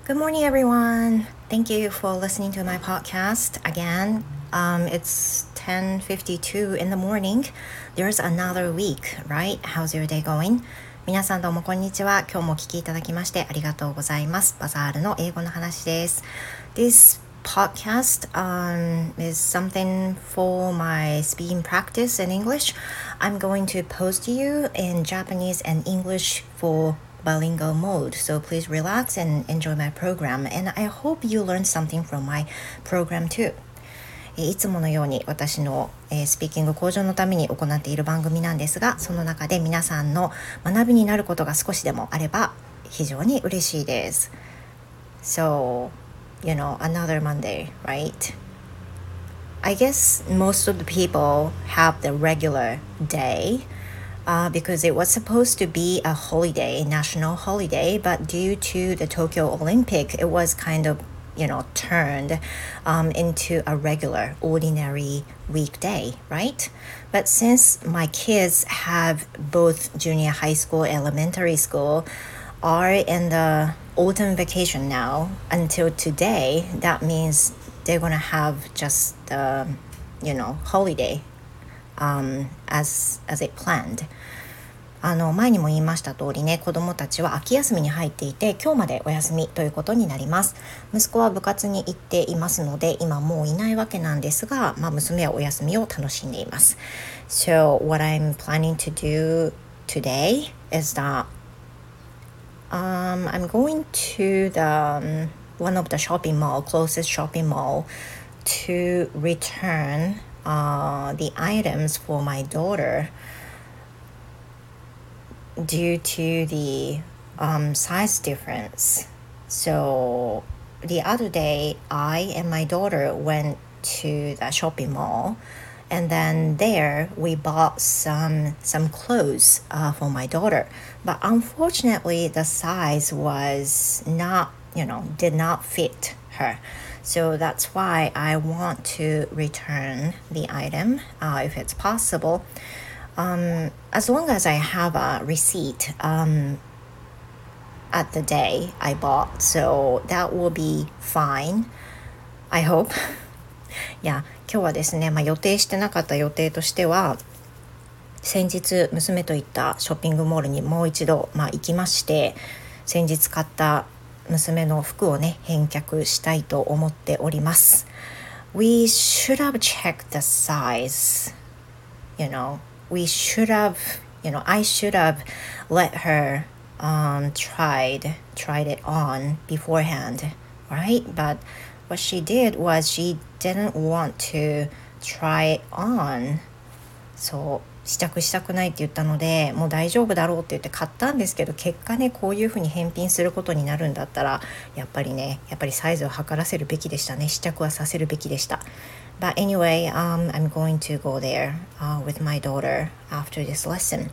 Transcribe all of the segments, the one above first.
Good morning, everyone. Thank you for listening to my podcast again. It's 10:52 in the morning. There's another week, right? How's your day going? 皆さんどうもこんにちは。今日もお聞きいただきましてありがとうございます。バザールの英語の話です。This podcast is something for my speaking practice in English. I'm going to post you in Japanese and English for bilingual mode, so please relax and enjoy my program, and I hope you learn something from my program too. いつものように私のスピーキング向上のために行っている番組なんですが、その中で皆さんの学びになることが少しでもあれば非常に嬉しいです。 So, another Monday, right? I guess most of the people have the regular day,because it was supposed to be a holiday, national holiday, but due to the Tokyo Olympic, it was kind of, turned into a regular, ordinary weekday, right? But since my kids have both junior high school, elementary school, are in the autumn vacation now until today, that means they're gonna have just holiday as it planned. 前にも言いました通りね、子どもたちは秋休みに入っていて今日までお休みということになります。息子は部活に行っていますので今もういないわけなんですが、娘はお休みを楽しんでいます。 So what I'm planning to do today is that I'm going to the one of the closest shopping mall to return the items for my daughter due to the size difference. So the other day, I and my daughter went to the shopping mall, and then there we bought some clothes for my daughter. But unfortunately, the size was not, did not fit her. So that's why I want to return the item if it's possible. As long as I have a receipt at the day I bought, so that will be fine, I hope. いや、今日はですね、予定してなかった予定としては、先日娘と行ったショッピングモールにもう一度、行きまして、先日買った娘の服をね、返却したいと思っております。We should have checked the size, we should have, I should have let her tried it on beforehand, right? But what she did was she didn't want to try it on. そう試着したくないって言ったので、もう大丈夫だろうって言って買ったんですけど、結果ね、こういうふうに返品することになるんだったらやっぱりサイズを測らせるべきでしたね。試着はさせるべきでした。But anyway, I'm going to go there with my daughter after this lesson.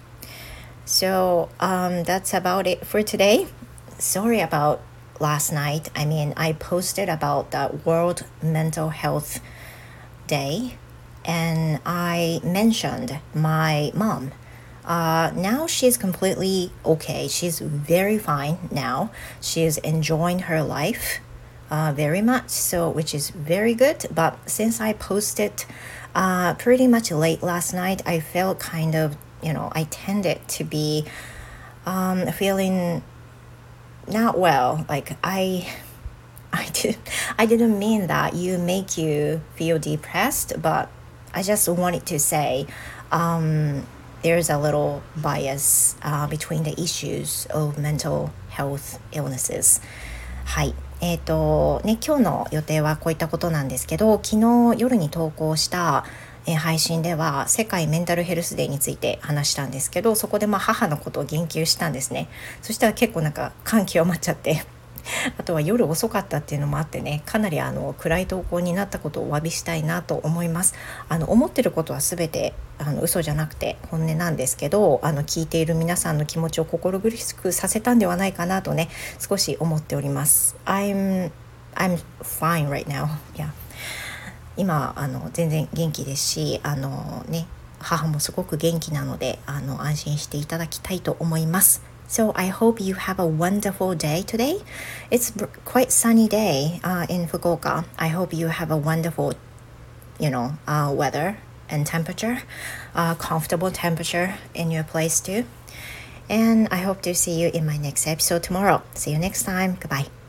So that's about it for today. Sorry about last night. I posted about the World Mental Health Day, and I mentioned my mom. Now she's completely okay. She's very fine now. She's enjoying her life very much, so which is very good. But since I posted pretty much late last night, I felt kind of, I tended to be feeling not well. Like I didn't mean that make you feel depressed, but I just wanted to say there's a little bias between the issues of mental health illnesses. はい。今日の予定はこういったことなんですけど、昨日夜に投稿した配信では世界メンタルヘルスデーについて話したんですけど、そこで母のことを言及したんですね。そしたら結構感極まっちゃってあとは夜遅かったっていうのもあってね、かなり暗い投稿になったことをお詫びしたいなと思います。思ってることは全て嘘じゃなくて本音なんですけど、聞いている皆さんの気持ちを心苦しくさせたんではないかなとね、少し思っております。I'm fine right now. Yeah. 今全然元気ですし、母もすごく元気なので安心していただきたいと思います。 So I hope you have a wonderful day today. It's quite sunny day in Fukuoka. I hope you have a wonderful, weather and temperature, comfortable temperature in your place too. And I hope to see you in my next episode tomorrow. See you next time. Goodbye.